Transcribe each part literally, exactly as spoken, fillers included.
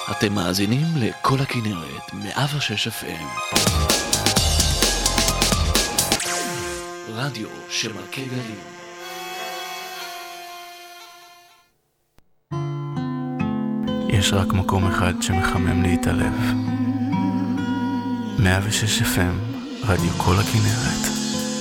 אתם מאזינים לכל הכנרת, מאה ושש אף אם. רדיו שמלכה גלים. יש רק מקום אחד שמחמם להתעלב. מאה ושש אף אם, רדיו כל הכנרת.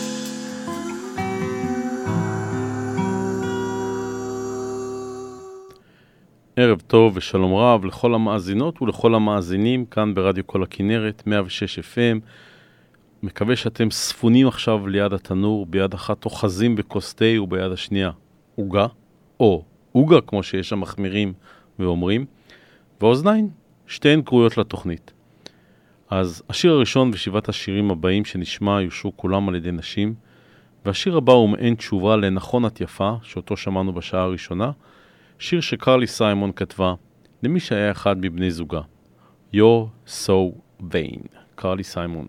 ערב טוב ושלום רב לכל המאזינות ולכל המאזינים כאן ברדיו כל הכנרת, מאה ושש אף אם. מקווה שאתם ספונים עכשיו ליד התנור, ביד אחת אוחזים בכוס תה וביד השנייה עוגה, או עוגה כמו שיש המחמירים ואומרים, ואוזניים, שתיהן קרויות לתוכנית. אז השיר הראשון ושבעת השירים הבאים שנשמע יושרו כולם על ידי נשים, והשיר הבא הוא מעין תשובה לנכון את יפה, שאותו שמענו בשעה הראשונה, שיר שקרלי סיימון כתבה למי שהיה אחד מבני זוגה. You're so vain. קרלי סיימון.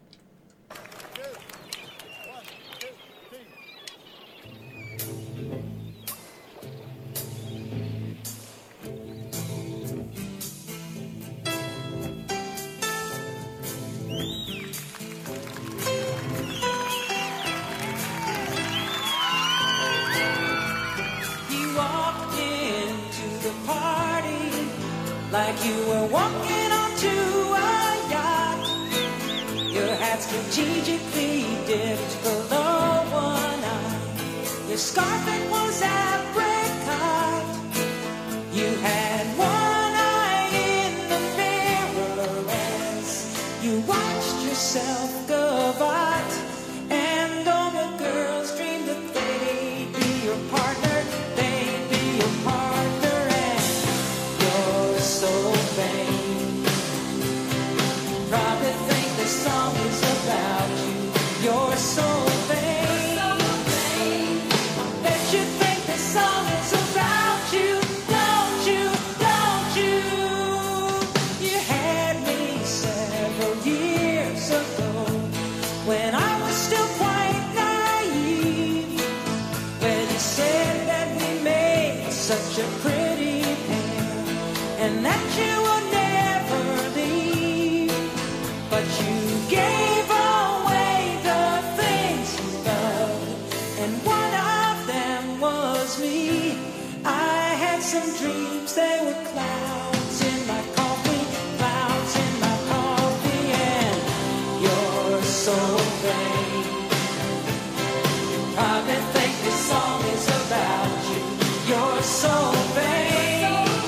Like you were walking onto a yacht, your hat strategically dipped below one eye, your scarf it was apricot, you had one eye in the mirror as you watched yourself gavotte, and all the girls dreamed that they'd be your partner, they'd be your partner, and you're so vain. Probably think this song is about you. You're so vain. I bet you think this song is about you. Don't you, don't you? You had me several years ago when I was still quite naive, when you said that we made such a pretty pair and that you would never leave, but you gave away the things you loved, and one of them was me. I had some dreams, they were clouds in my coffee, clouds in my coffee, and you're so vain. You probably think this song is about you. You're so vain.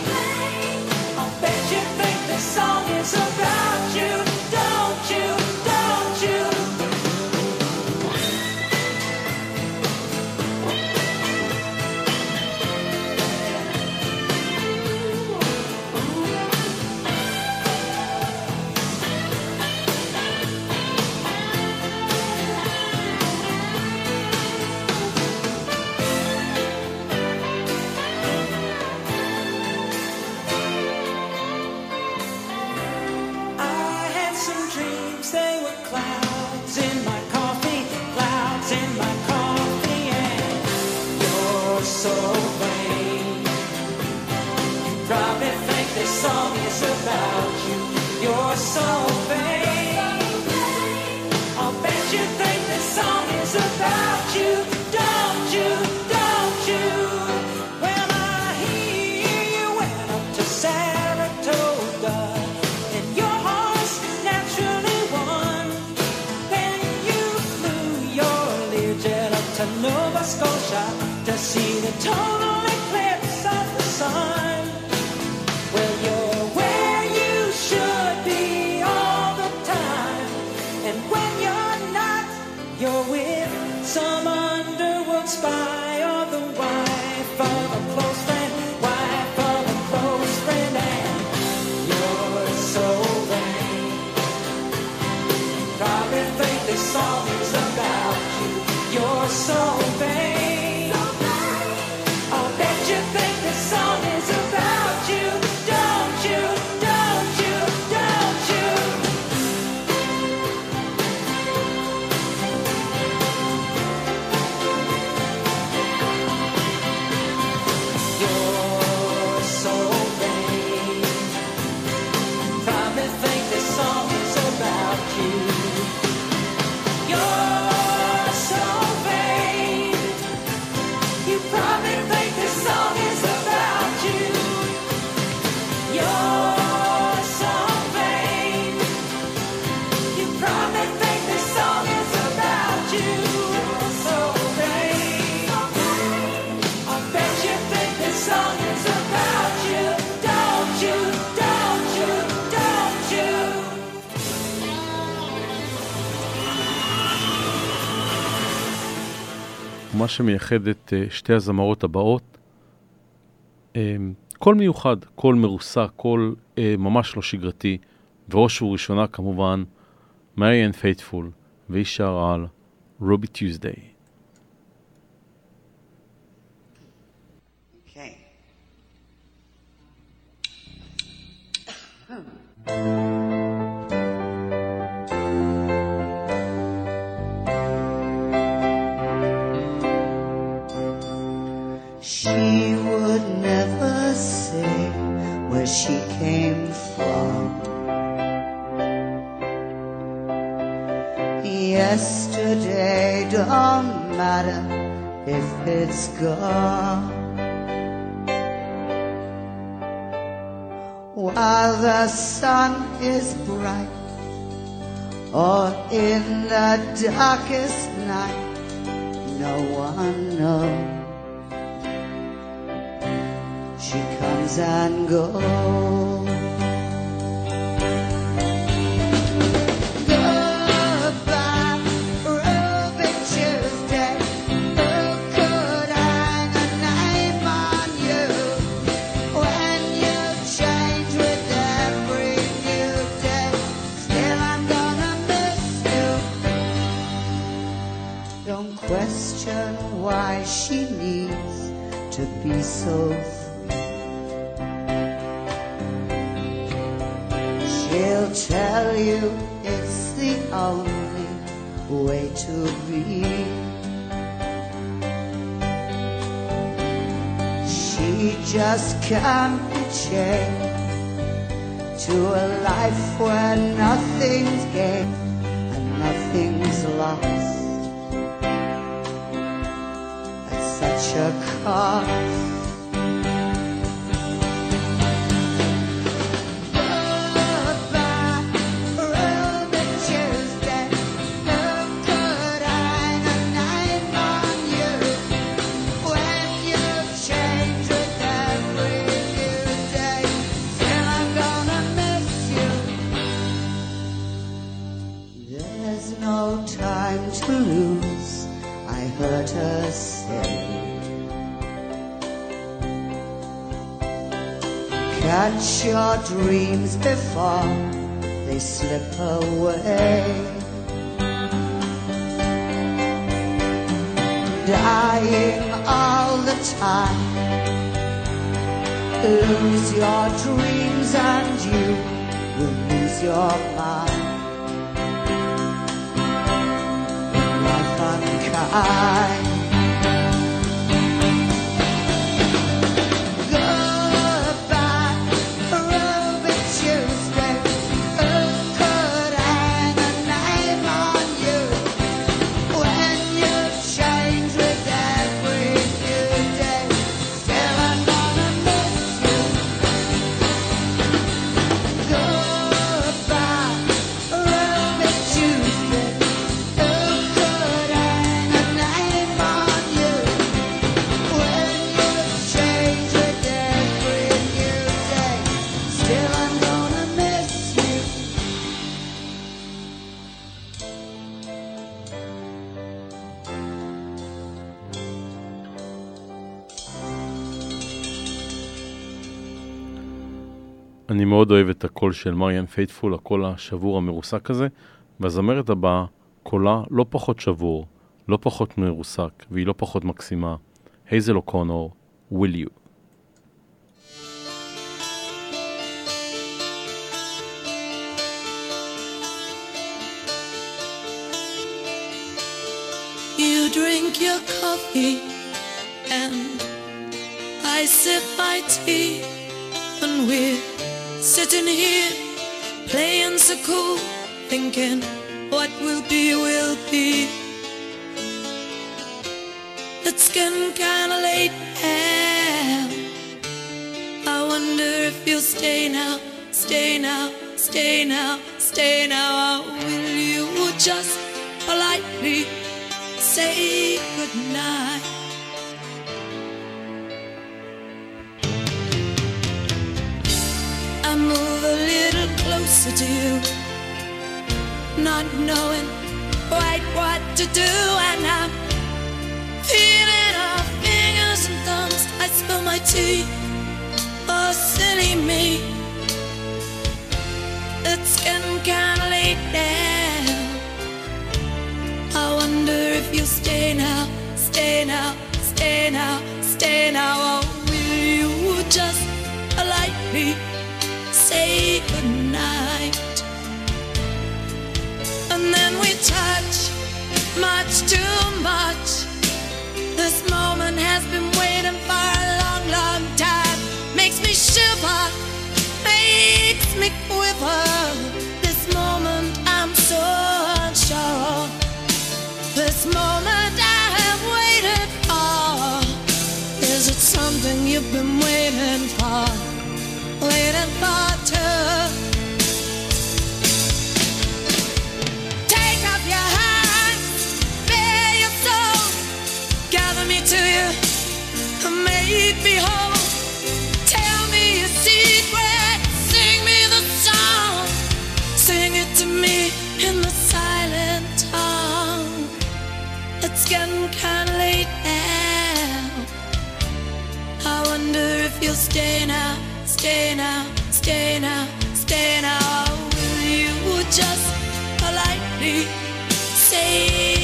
Bet you think this song is about you, don't you, don't you? Song is about you. You're so vain. I'll bet you think this song is about you. Don't you, don't you? When I hear you went up to Saratoga and your horse naturally won, then you flew your Learjet up to Nova Scotia to see the total eclipse of the sun. Well, you're where you should be all the time, and when you're not, you're with some underworld spy or the wife of a close friend, wife of a close friend, and you're so vain. Probably think this song is about you. You're so vain. I'll bet ומה שמייחד את שתי הזמרות הבאות, קול מיוחד, קול מרוסק, קול ממש לא שגרתי, וראש וראשונה כמובן, מריאן פייטפול, והיא שרה על רובי טיוזדיי. Okay. She would never say where she came from. Yesterday don't matter if it's gone. While the sun is bright or in the darkest night, no one knows. She comes and goes. Goodbye, Ruby Tuesday. Who could hang a name on you when you change with every new day? Still, I'm gonna miss you. Don't question why she needs to be so free. She'll tell you it's the only way to be. She just can't be chained to a life where nothing's gained and nothing's lost at such a cost. To lose, I heard her say. Catch your dreams before they slip away. Dying all the time. Lose your dreams and you will lose your mind. Unkind. Goodbye, Ruby Tuesday. Who could hang a name on you when you change with every new day? Still, I'm gonna miss you. Goodbye, Ruby Tuesday. אני מאוד אוהב את הקול של מריאן פייטפול, הקול השבור המרוסק הזה, והזמרת הבאה, קולה לא פחות שבור, לא פחות מרוסק, והיא לא פחות מקסימה. הייזל אוקונור, Will You. You drink your coffee and I sip my tea, and we're sitting here playing so cool, thinking what will be will be. It's getting kinda late and I wonder if you'll stay now, stay now, stay now, stay now, or will you just politely say goodnight? I move a little closer to you, not knowing quite what to do, and I'm feeling spill my tea. Oh, silly me. It's getting kinda late now. I wonder if you'll stay now, stay now, stay now, stay now. Or will you just politely say goodnight? And then we touch much too much. This moment has been waiting for a long, long time. Makes me shiver, makes me quiver. This moment I'm so unsure. This moment I have waited for. Is it something you've been waiting for? Waiting for too. Take off your hands, bare your soul. Gather me to you, make me whole. Tell me your secret, sing me the song. Sing it to me in the silent tongue. It's getting kinda late now. I wonder if you'll stay now, stay now, stay now, stay now. Or will you just politely say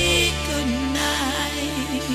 goodnight?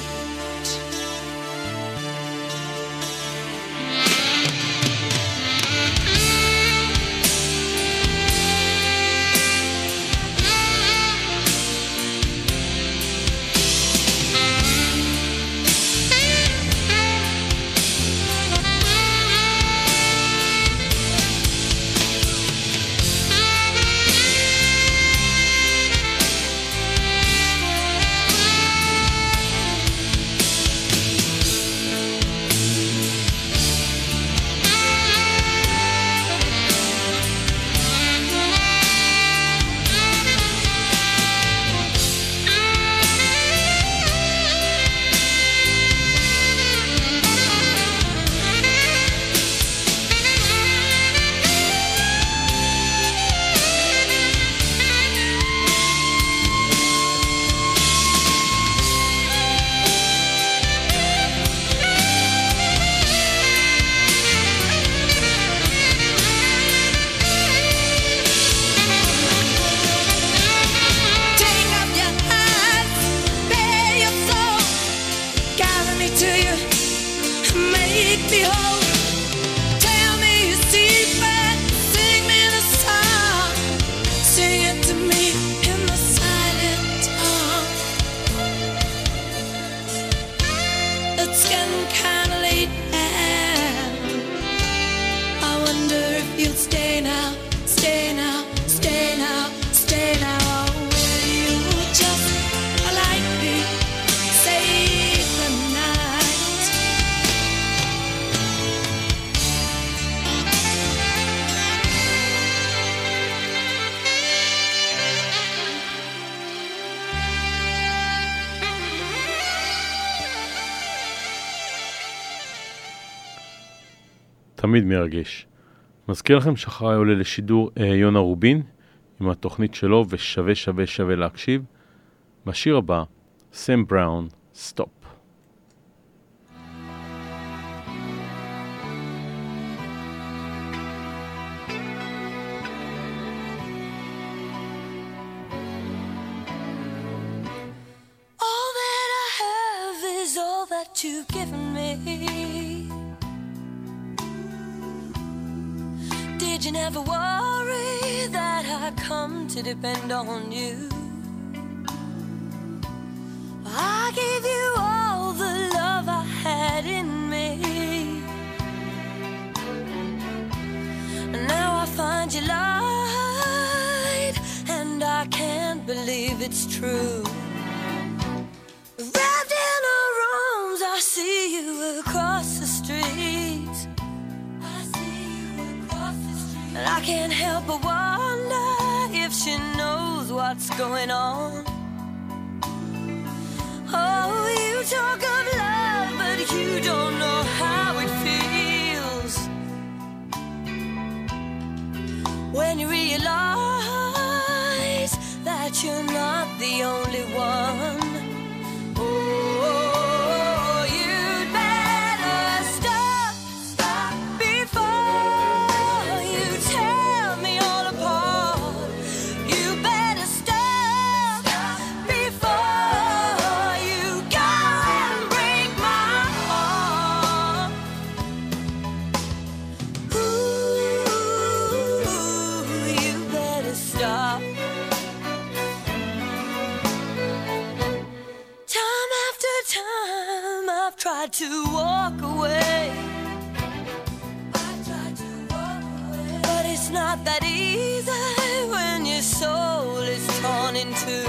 תמיד מרגש. מזכיר לכם שאחריי עולה לשידור אה, יונה רובין עם התוכנית שלו ושווה שווה שווה להקשיב. בשיר הבא, סם בראון, סטופ. All that I have is all that you've given me. Did you never worry that I'd come to depend on you? I gave you all the love I had in me, and now I find you lied, and I can't believe it's true. Wrapped in her arms, I see you across the street. And I can't help but wonder if she knows what's going on. Oh, you talk of love, but you don't know how it feels when you realize that you're not the only one. Oh, you'd better stop. not that easy when your soul is torn in two.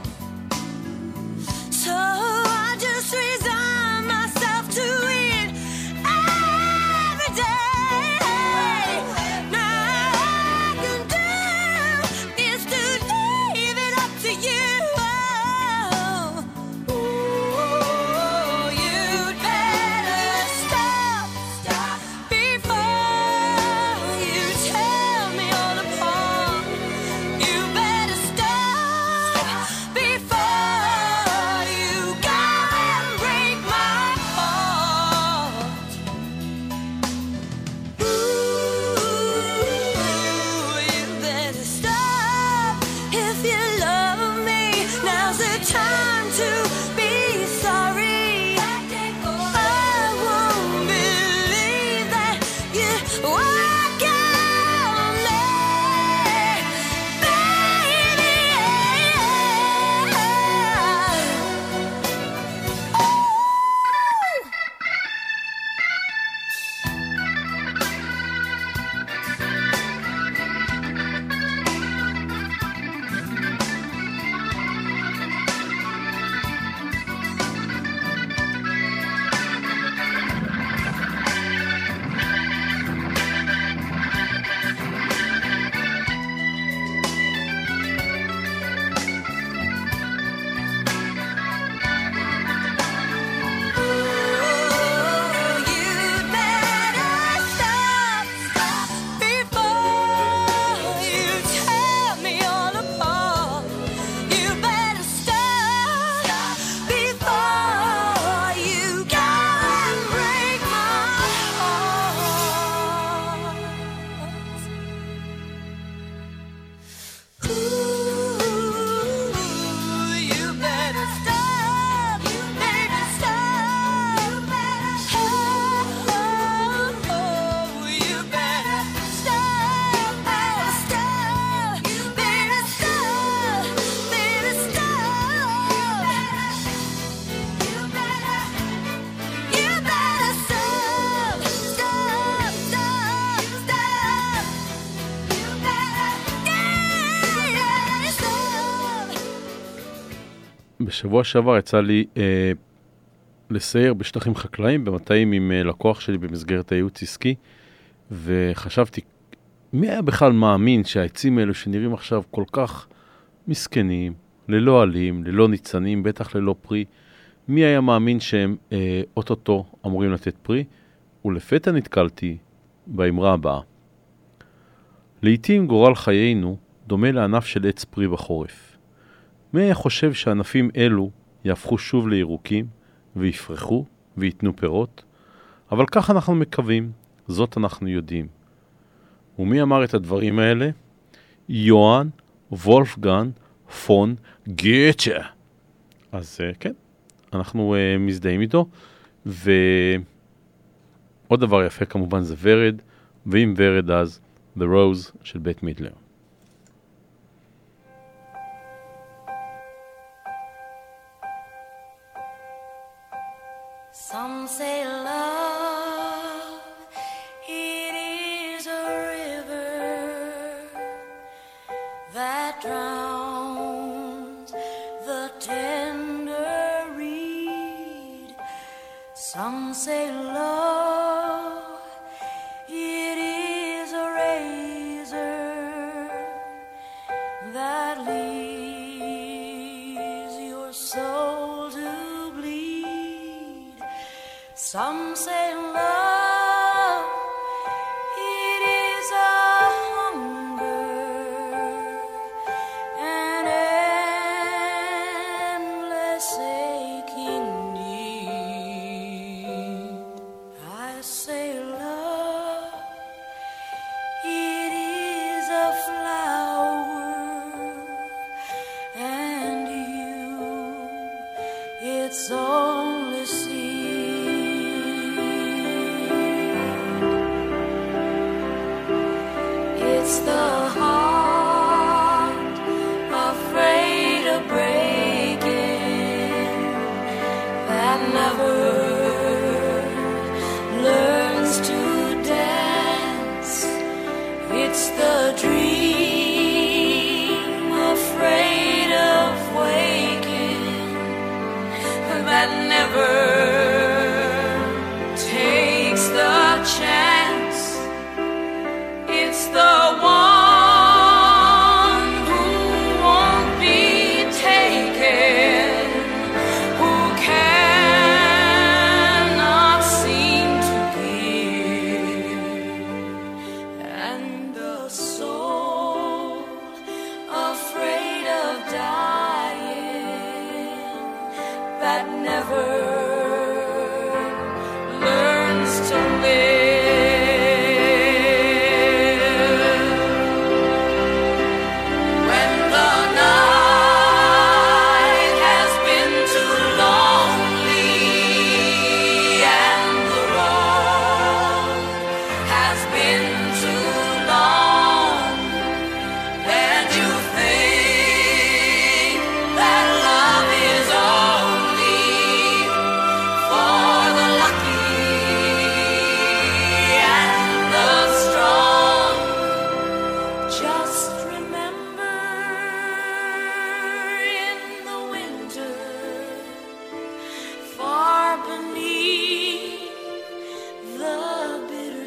So I just resign myself to it every day. Now all I can do is to leave it up to you. Oh, you'd better stop, stop before you tear me all apart. You better stop before you go and break my heart. Ooh, you better stop if you love me. Now's the time to be sorry. I won't believe that you walk on me, baby. You'd better stop, stop before you tear me all apart. You better stop before you go and break my heart. Ooh, you better stop, you better stop, you better stop. Oh, you better stop, better stop, you better stop, better stop. You better, you better stop, stop, stop, stop. You better, yeah, yeah, stop. בשבוע שעבר יצא לי אה, לסייר בשטחים חקלאיים במטעים עם אה, לקוח שלי במסגרת הייעוץ עסקי, וחשבתי, מי היה בכלל מאמין שהעצים האלו שנראים עכשיו כל כך מסכנים, ללא עלים, ללא ניצנים, בטח ללא פרי, מי היה מאמין שהם אה, אוטוטו אמורים לתת פרי? ולפתע נתקלתי באמרה הבאה. לעתים גורל חיינו דומה לענף של עץ פרי בחורף. מי היה חושב שענפים אלו יהפכו שוב לירוקים ויפרחו ויתנו פירות? אבל כך אנחנו מקווים, זאת אנחנו יודעים. ומי אמר את הדברים האלה? יוהאן וולפגנג פון גוטה. אז uh, כן, אנחנו uh, מזדהים איתו. ועוד דבר יפה כמובן זה ורד, ואם ורד אז The Rose של בית מידלר. Some say love, it is a river that drowns the tender reed. Some say love, it is a razor that leaves your soul to bleed. Some say love, it is a hunger, an endless aching need. I say love, it is a flower, and you, it's only seed. It's the heart afraid of breaking that never learns to dance. It's the dream, afraid of waking, that never takes the chance. It's the one who won't be taken, who cannot seem to give, and the soul afraid of dying, that never learns to live. When the night has been too lonely and the road has been too long, and you think that love is only for the lucky and the strong, just remember in the winter, far beneath the bitter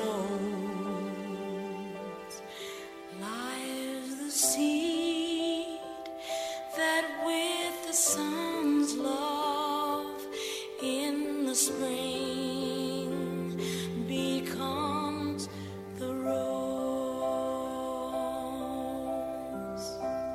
snows, lies the seed that with the sun's love in the spring becomes the rose.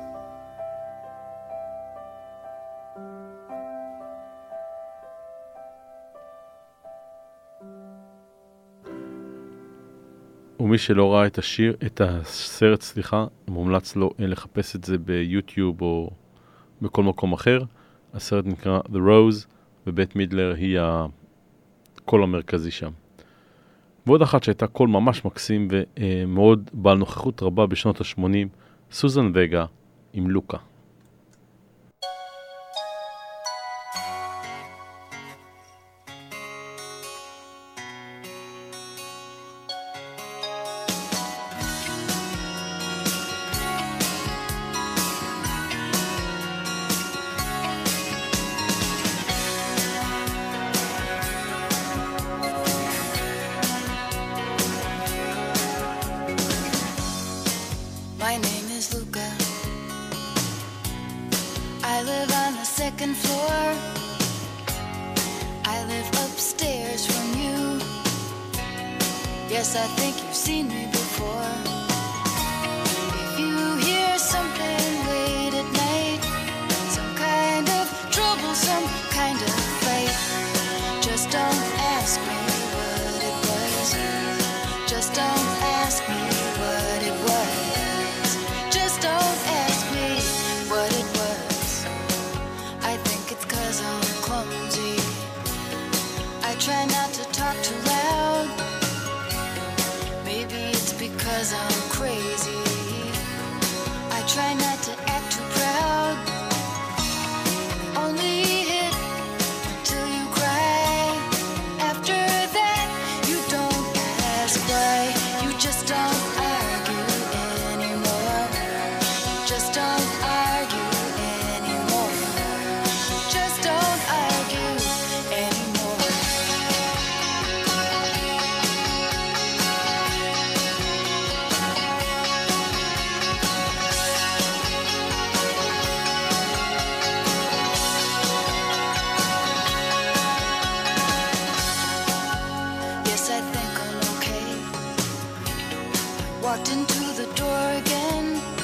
ומי שלא ראה את השיר, את הסרט, סליחה, מומלץ לו לחפש את זה ביוטיוב או בכל מקום אחר. הסרט נקרא The Rose, ובית מידלר היא הקול המרכזי שם. ועוד אחת שהייתה קול ממש מקסים ומאוד בעל נוכחות רבה בשנות ה-שמונים, סוזן וגה עם לוקה. My name is Luca. I live on the second floor. I live upstairs from you. Yes, I think you've seen me before. If you hear something late at night, some kind of trouble, some kind of fight, just don't ask me what it was. Just don't ask me what it was. Just don't ask me what it was. I think it's 'cause I'm clumsy. I try not to talk too loud. Maybe it's because I'm crazy. I try not to act too proud. Only hit till you cry. After that, you don't ask why. You just don't argue anymore. Just don't argue anymore. Just don't argue anymore. Yes, I think I'm okay. Walked into the door again.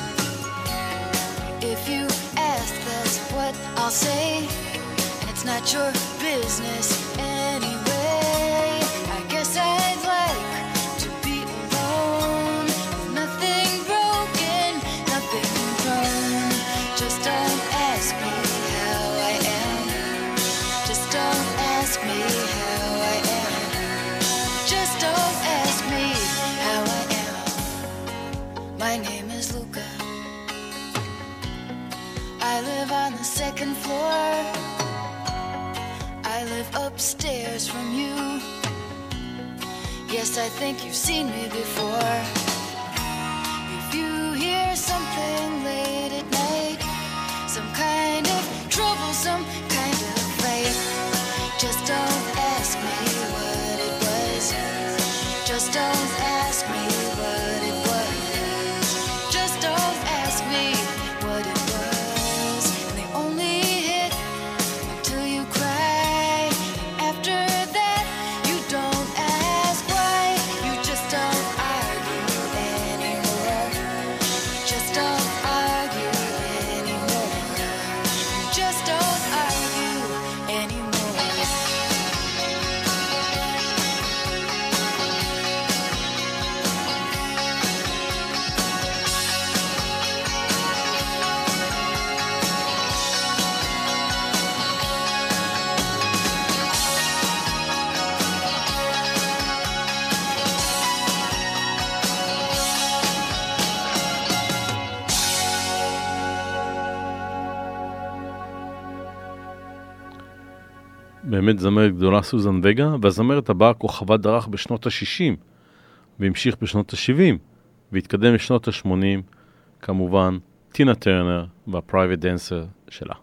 If you ask, that's what I'll say. And it's not your business anyway. I guess I'd like to be alone. Nothing broken, nothing wrong. Just don't ask me how I am. Just don't ask me how I am. Just don't ask me how I am. My name is Luca. I live on the second floor. I live upstairs from you. Yes, I think you've seen me before. if you hear something late at night, some kind of trouble, some kind of fight, just don't ask me what it was. Just don't ask me what it was. Just don't ask me what it was. And they only hit until you cry. After that, you don't ask why. You just don't argue anymore. Just don't argue anymore. Just don't argue anymore. באמת זמרת גדולה סוזן וגה, והזמרת הבאה כוכבה דרך בשנות ה-שישים, והמשיך בשנות ה-שבעים, והתקדם לשנות ה-שמונים, כמובן, טינה טרנר והפרייבט דנסר שלה.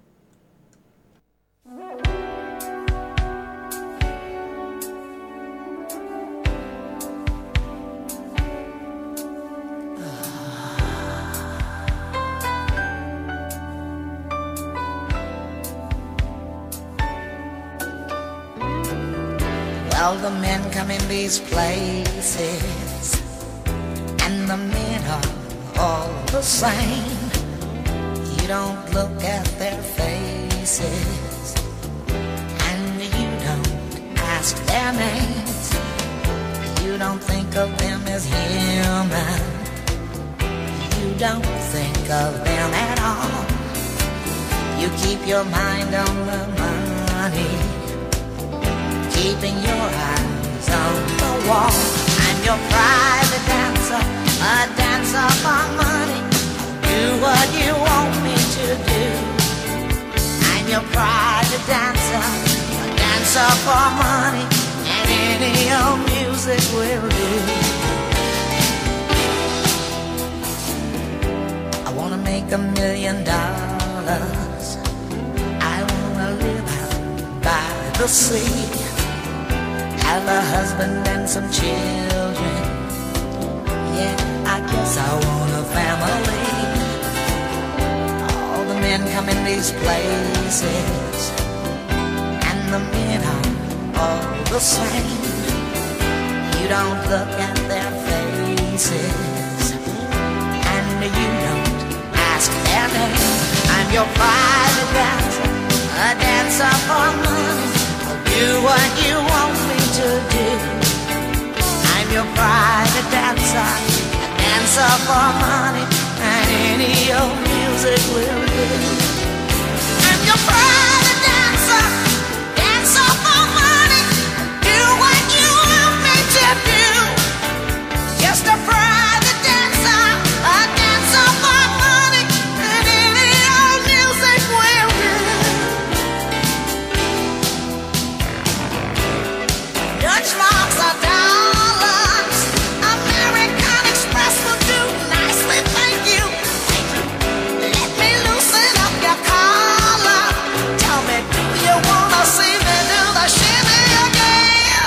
Well, the men come in these places, and the men are all the same. You don't look at their faces, and you don't ask their names. You don't think of them as human. You don't think of them at all. You keep your mind on the money, keeping your eyes on the wall. I'm your private dancer, a dancer for money. Do what you want me to do. I'm your private dancer, a dancer for money, and any old music will do. I wanna make a million dollars. I wanna live out by the sea, have a husband and some children. Yeah, I guess I want a family. All the men come in these places, and the men are all the same. You don't look at their faces, and you don't ask their name. I'm your private dancer, a dancer for money. Do what you want me to do. I'm your private dancer, a dancer for money, and any old music will do. I'm your private dancer, dancer for money. Do what you want me to do. Just a private dancer, a dancer for money, and any old music will do. Dutch marks are dollars. American Express will do nicely, thank you. Let me loosen up your collar. Tell me, do you wanna see me do the shimmy again?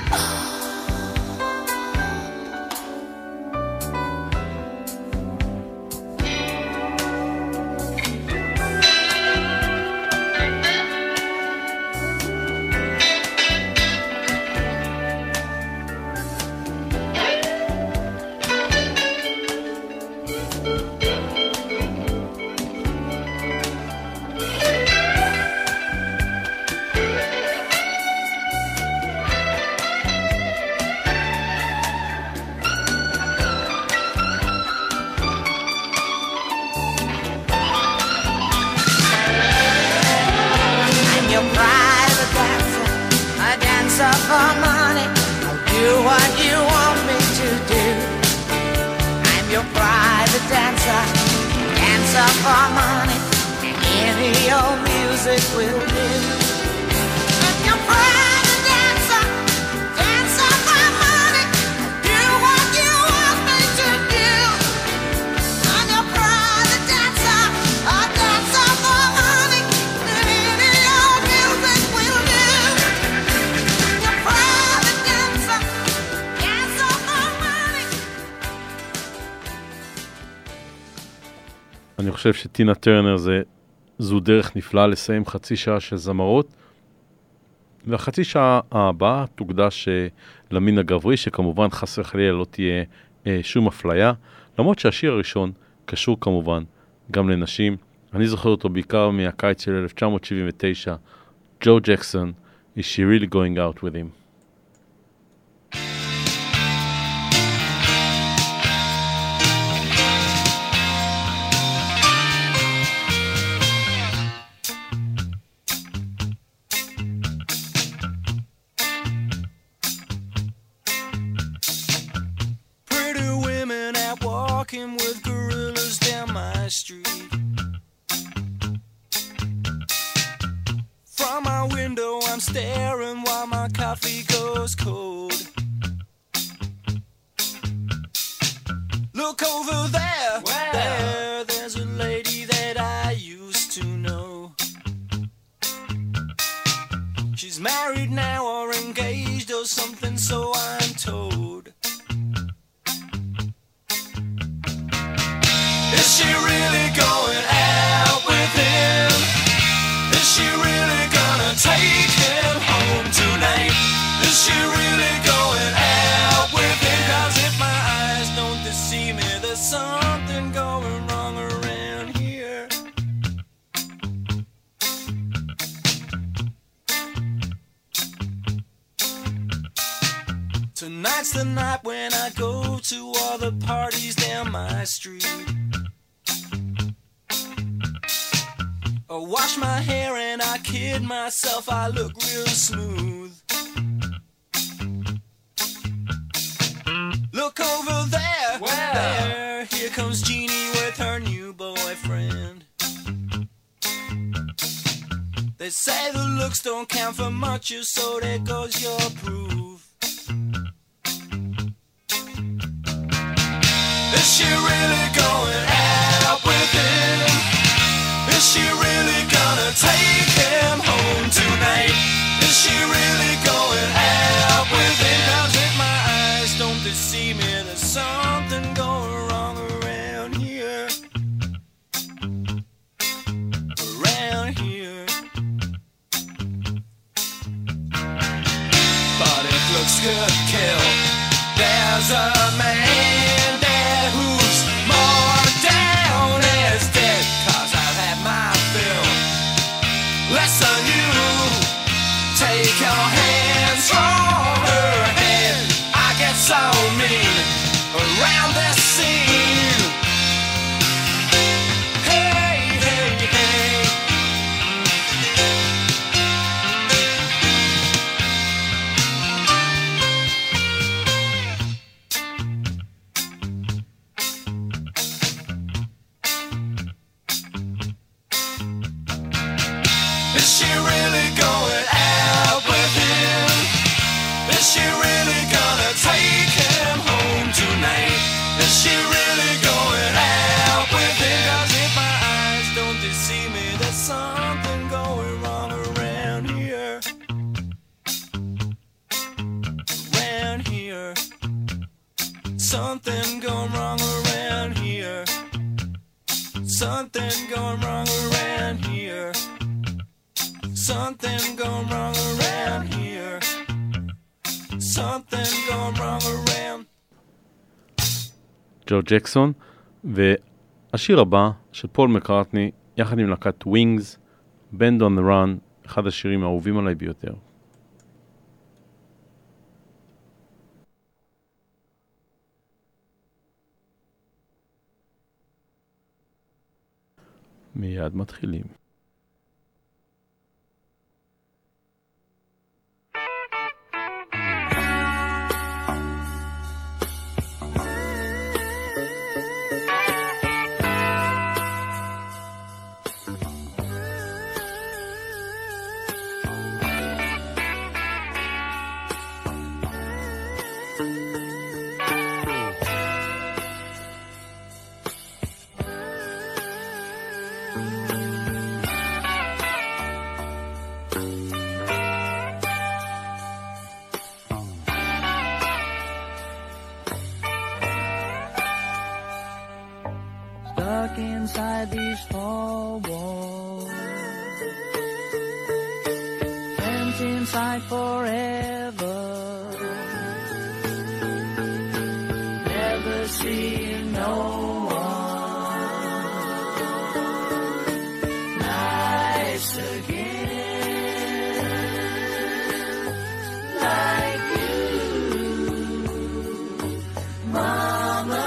I'm your private dancer, a dancer for money. I'll do what you want me to do. I'm your private dancer, dancer for money, and any old music will do. I'm your private dancer, dancer for money. Do what you want me to do. אני חושב שטינה טרנר זה, זו דרך נפלאה לסיים חצי שעה של זמרות, והחצי שעה הבאה תוקדש למין הגברי, שכמובן חסר חלילה לא תהיה אה, שום אפליה, למרות שהשיר הראשון קשור כמובן גם לנשים. אני זוכר אותו בעיקר מהקיץ של אלף תשע מאות שבעים ותשע, ג'ו ג'קסון, Is She Really Going Out With Him? With gorillas down my street. From my window I'm staring while my coffee goes cold. Look over there, wow. there, there's a lady that I used to know. She's married now or engaged or something, so I'm told. Is she really going out with him? Is she really gonna take him home tonight? Is she really going out with him? 'Cause if my eyes don't deceive me, there's something going wrong around here. Tonight's the night when I go to all the parties down my street. I wash my hair and I kid myself, I look real smooth. Look over there, wow. there, here comes Jeannie with her new boyfriend. They say the looks don't count for much, so there goes your proof. Is she really going out with him? Is she really gonna take him home tonight? Is she really going out with him? 'Cause if my eyes don't deceive me, there's something going wrong around here. Around here. But if looks could kill, there's a man there who's more down as dead. 'Cause I've had my fill. Less than you. Take your hands from her head. I get so mean around this scene. Hey, hey, hey. Is she really going out with him? Is she really gonna take him home tonight? Is she really going out with him? 'Cause if my eyes don't deceive me, there's something going wrong around here. Around here. Something going wrong around here. Something going wrong around here. Something going wrong around here. Something going wrong around. ג'ו ג'קסון, והשיר הבא של פול מקרטני, יחד עם להקת ווינגס, Band on the Run, אחד השירים האהובים עליי ביותר. מיד מתחילים. stuck inside these four walls. Friends inside forever. Never seeing no one nice again like you, Mama.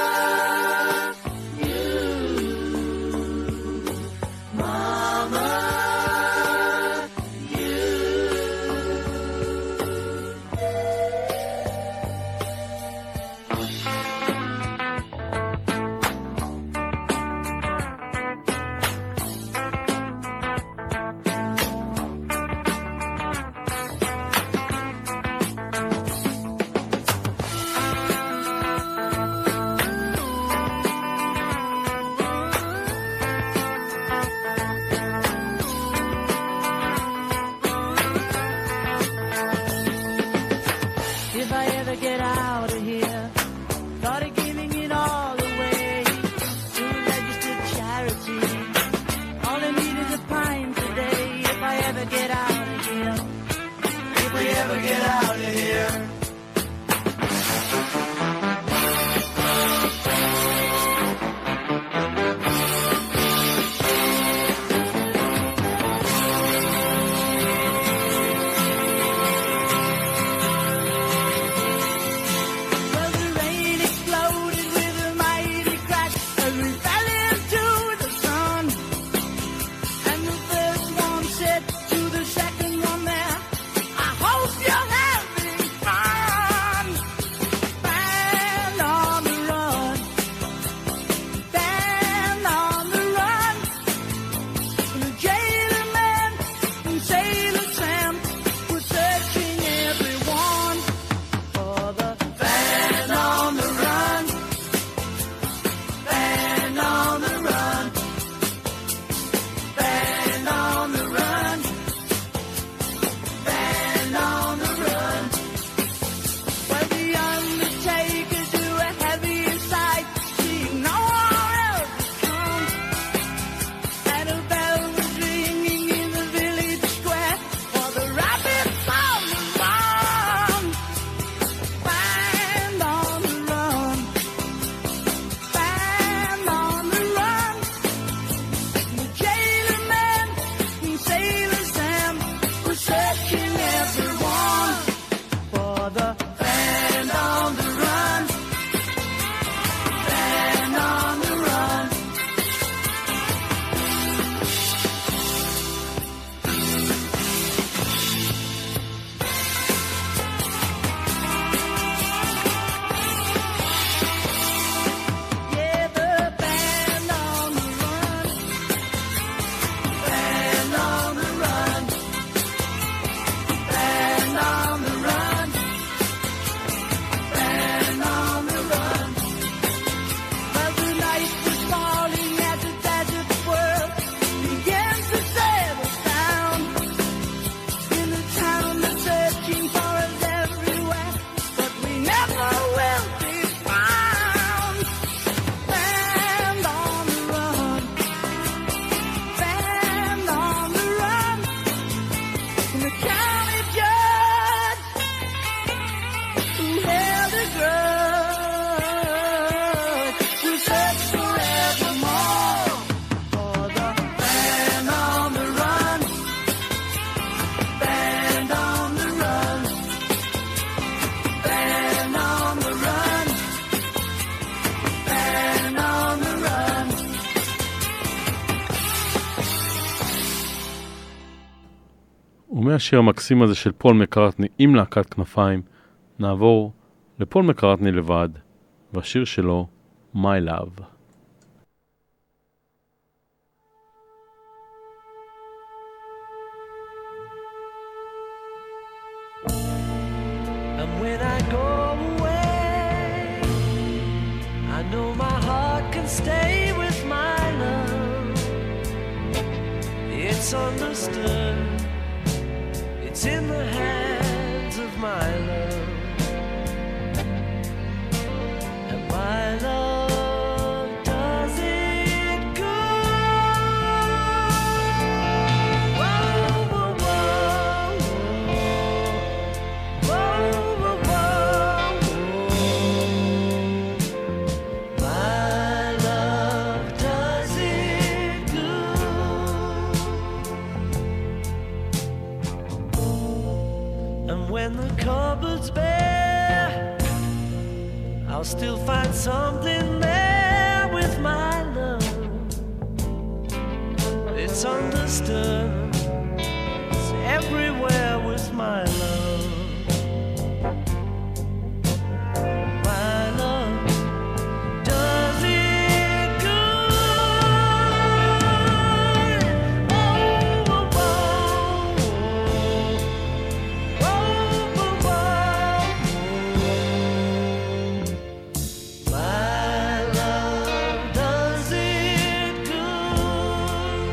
ומהשיר המקסים הזה של פול מקרטני עם להקת כנפיים, נעבור לפול מקרטני לבד, והשיר שלו, My Love. And when I go away, I know my heart can stay with my love. It's understood. It's in the hands of my love. And my love does it it's understood. It's everywhere with my love. My love does it good. Oh, oh, oh, oh, oh, oh. My love does it good.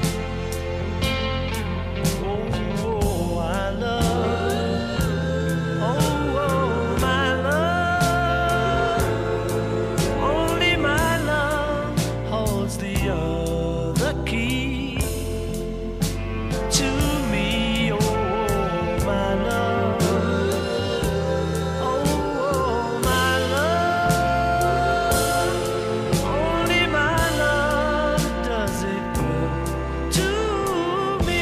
Oh, oh, I love. Oh, oh, my love. Only my love holds the other key to me. Oh, my love. Oh, oh, my love. Only my love does it good to me.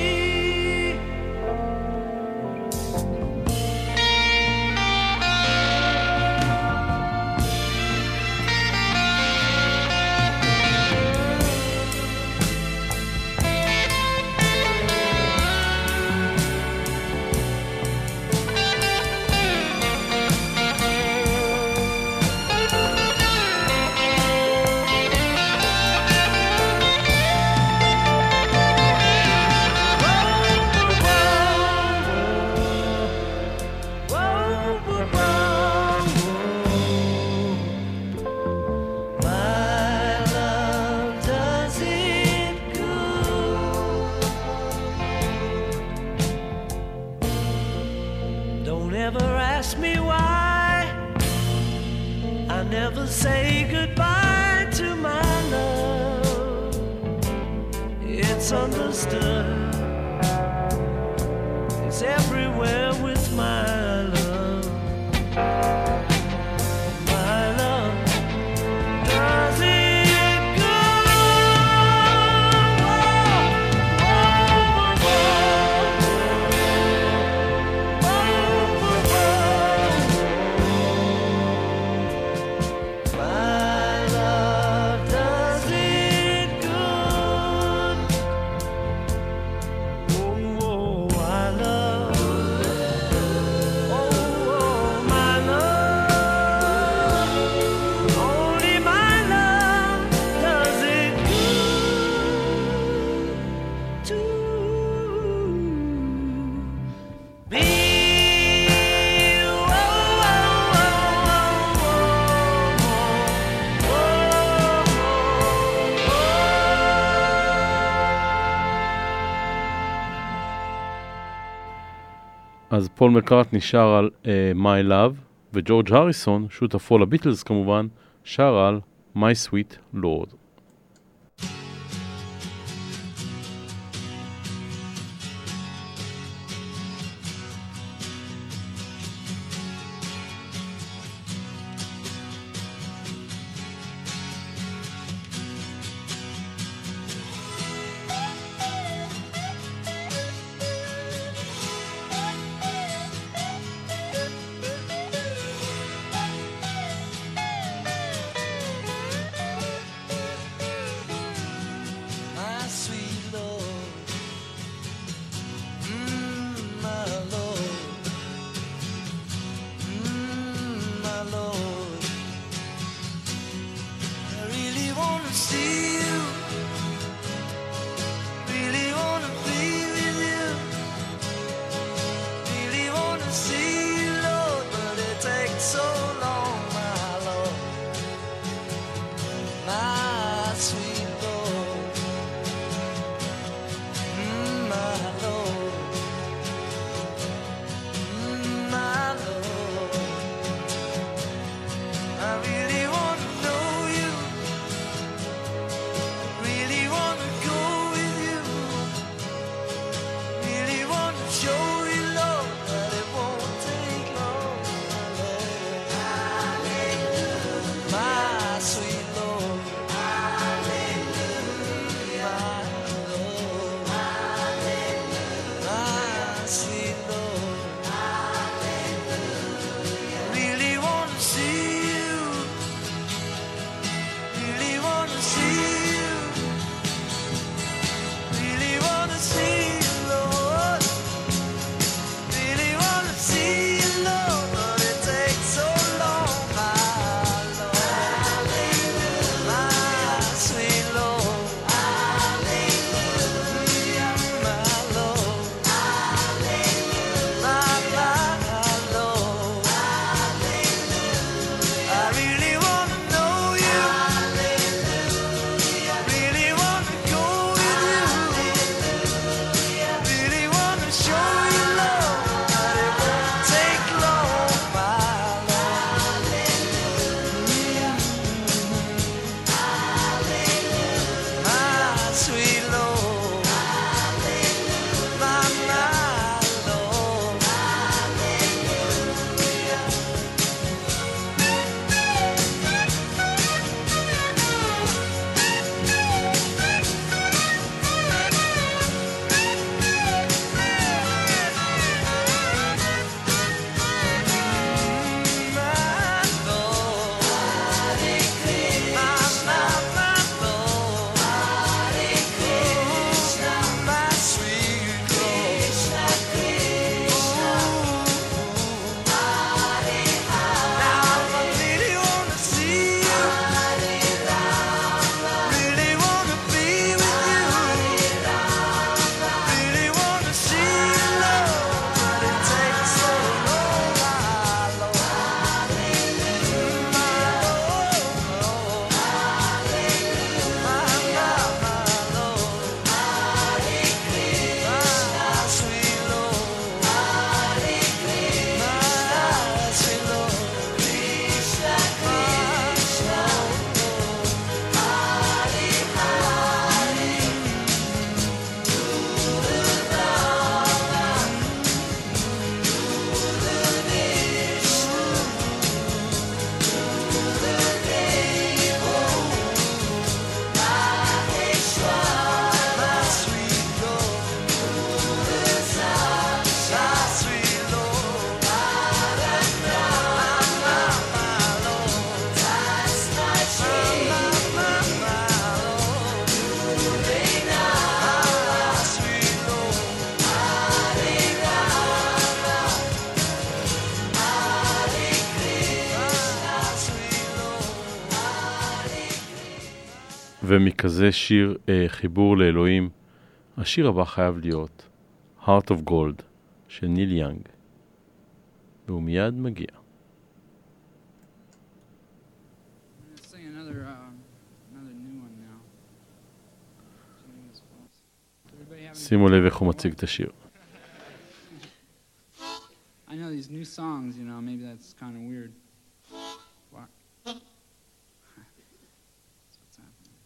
My love does it good. Don't ever ask me why I never say goodbye to my love. It's understood. It's everywhere with my love. My love does it good. Whoa, whoa, whoa. My love does it good. Oh, oh, I love. Oh, oh, my love. Only my love does it good to me. Oh, oh, אז פול מקארטני שר על uh, My Love, וג'ורג' הריסון, שותפו לביטלס כמובן, שר על My Sweet Lord. my sweet Lord, mm, my Lord, mm, my Lord. I really want to see you, really want to be with you, really want to see you, Lord, but it takes so long, my Lord, my sweet Lord. Mm, my Lord, mm, my Lord, I really want to know you, really want to go with you, really want to show you, Lord, that it won't take long, my Lord, my sweet Lord, ומכזה שיר אה, חיבור לאלוהים, השיר הבא חייב להיות Heart of Gold של ניל יאנג, והוא מיד מגיע. Sing another, uh, another new one now. Everybody have any- שימו לב איך הוא מציג את השיר. I know these new songs, you know, maybe that's kind of weird. What? That's what's happening.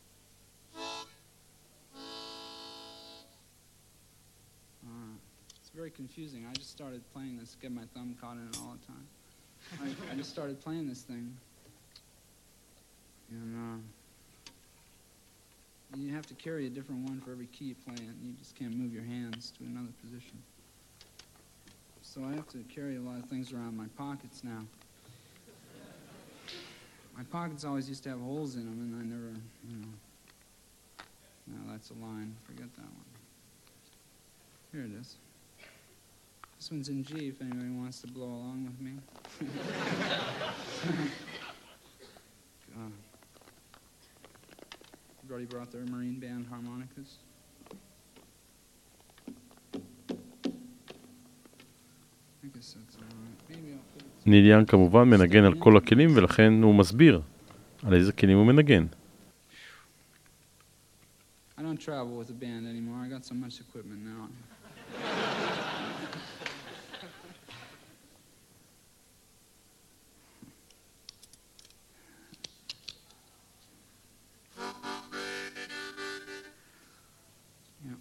Uh, it's very confusing. I just started playing this, get my thumb caught in it all the time. I, I just started playing this thing. And uh, you have to carry a different one for every key you play in. You just can't move your hands to another position. So I have to carry a lot of things around my pockets now. My pockets always used to have holes in them, and I never, you know. No, that's a line. Forget that one. Here it is. This one's in G if anybody wants to blow along with me. God. Everybody brought their Marine Band harmonicas. I guess that's all right. Maybe I'll put it... ניל יאנג כמובן מנגן על כל הכלים, ולכן הוא מסביר על איזה כלים הוא מנגן. I don't travel with a band anymore. I got so much equipment now. Yeah.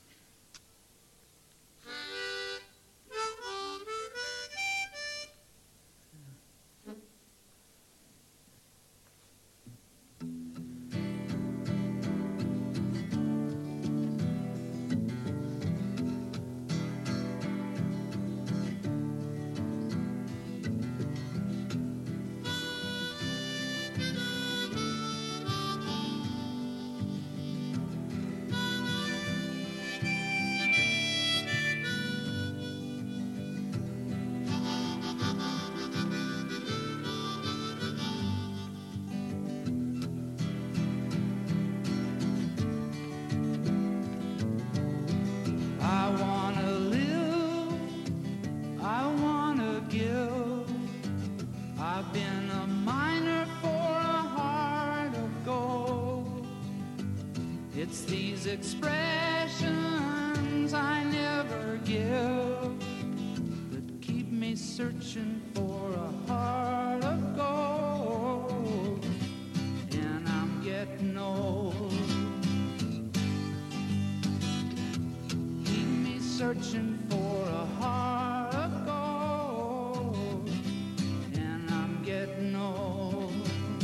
I wanna live, I wanna give. I've been a miner for a heart of gold. It's these expressions I never give that keep me searching for a heart of gold. And I'm getting old. Keep me searching for a heart of gold, and I'm getting old.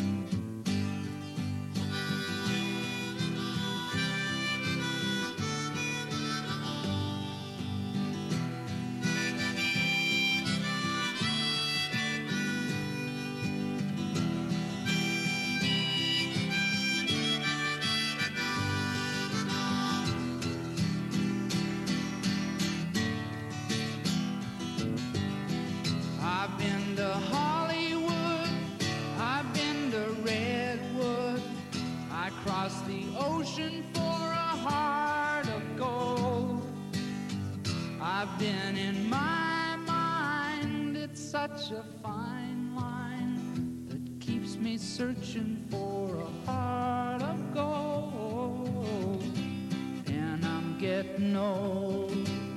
I've been to Hollywood, I've been to Redwood, I crossed the ocean for a heart of gold. I've been in my mind, it's such a fine line that keeps me searching for a heart of gold. And I'm getting old.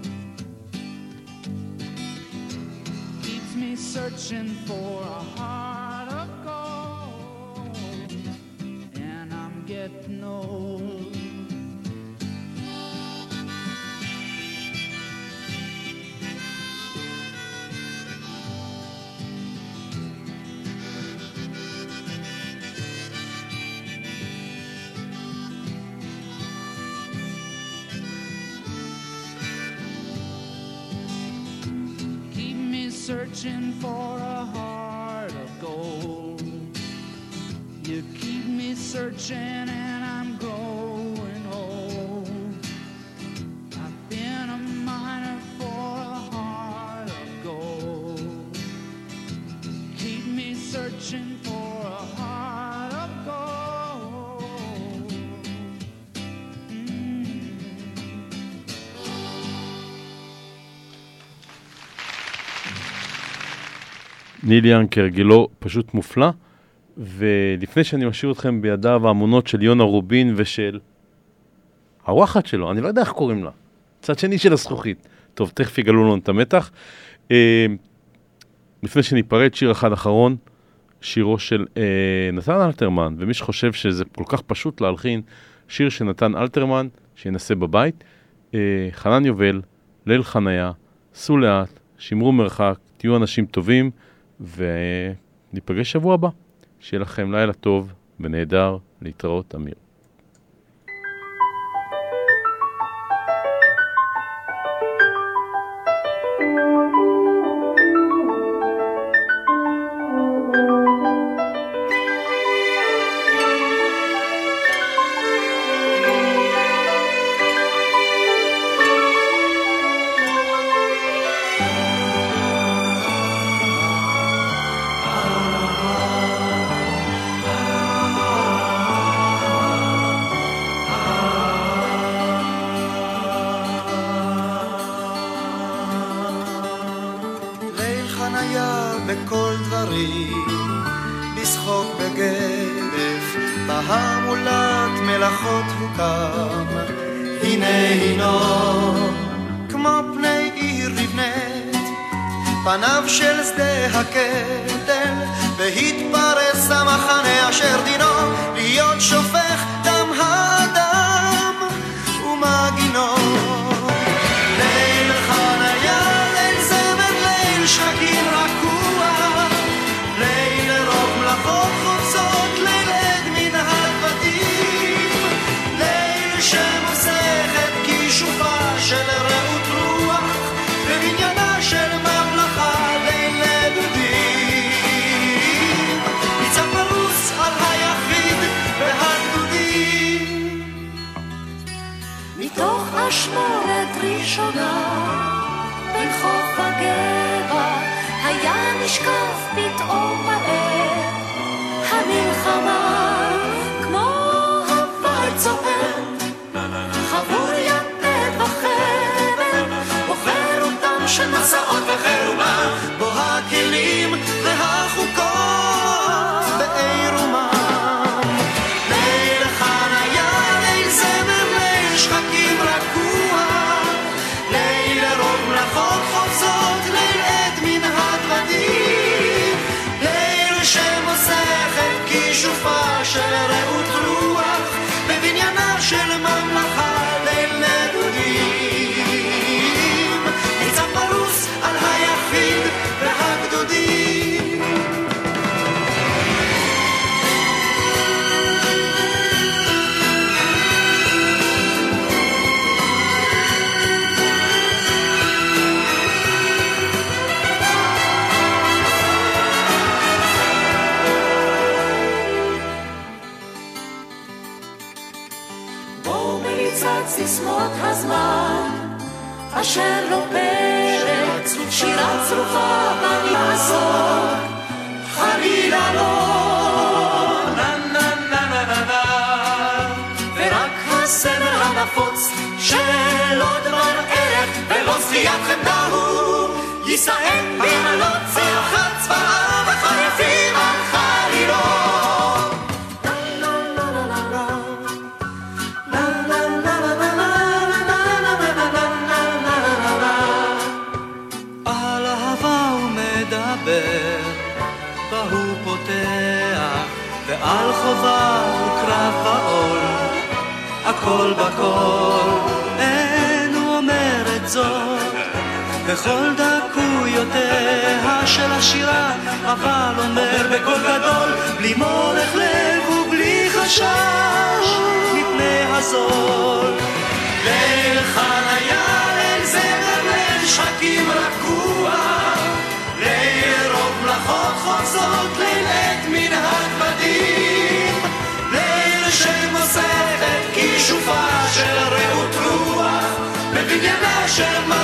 Keeps me searching for a heart of gold, and I'm getting old. Keep me searching for a heart of gold. You keep me searching and I'm growing old. I've been a miner for a heart of gold. Keep me searching for a heart of gold. ניל יאנג כהרגלו פשוט מופלא, ולפני שאני משאיר אתכם בידיו האמונות של יונה רובין ושל הוואחת שלו, אני לא יודע איך קוראים לה, צד שני של הזכוכית. טוב, תכף יגלו לנו את המתח. אה, לפני שניפרד, שיר אחד אחרון, שירו של אה, נתן אלתרמן, ומי שחושב שזה כל כך פשוט להלחין, שיר של נתן אלתרמן, שינסה בבית, אה, חנן יובל, ליל חניה, סעו לאט, שמרו מרחק, תהיו אנשים טובים, וניפגש שבוע הבא. שיהיה לכם לילה טוב ונהדר, להתראות, אמיר. בכל דברים, לשחוק בגדף, בהמולת מלאכות הוקם. הנה הינו, כמו פני עיר נבנית, פניו של שדה הקטל, והתפרס המחנה אשר דינו, להיות שופך דם האדם ומגינו. ליל חניה, ליל זמר, ליל שחקים רכוע, ליל רוב מלאכות חוצות, ליל עד מן הדבטים, ליל שמוסכת כישופה של רעות רוח, בבניינה של ממלכה, ליל דודים, ניצב פרוס על היחיד והגדודים. מתוך אשמורת ראשונה בין חוף הגבע היה נשקף פתאום מהר המלחמה, כמו הוואי צועד חבור יתד וחבל, בוחר אותם של מסעות וחירומה, בו הכלים והחוקות בעירומם. ליל חניה, ליל זמר, ליל שחקים רכוע, ליל רוב מלאכות חוצות, ליל עד מן הדבטים, ליל שמוסכת כישופה של רעות רוח, בבניינה של ממלכה, ליל נדודים, ניצב פרוס על היחיד והגדודים. בו מריצת סיסמות הזמן אשר לא פרק, שירה צרופה במעשות, חלילה לא נה נה נה נה נה נה, ורק הסמל הנפוץ של עוד דבר ערך ולא זכיית חמדה הוא יישאם במעלות צלחת צבאה וחרפים על חלילות. על אהבה הוא מדבר, והוא פותח, ועל חובה הוא קרב בעול, הכל בכל, אין הוא אומר את זאת, בכל דקויותיה של השירה, אבל אומר בקול גדול, בלי מורך לב ובלי חשש, מפני הזול. ליל חניה, ליל זמר, ליל שחקים רכוע, ליל רוב מלאכות חוצות, ליל עד מן הדבטים, ליל שמוסכת כישופה של רעות רוח, בבניינה של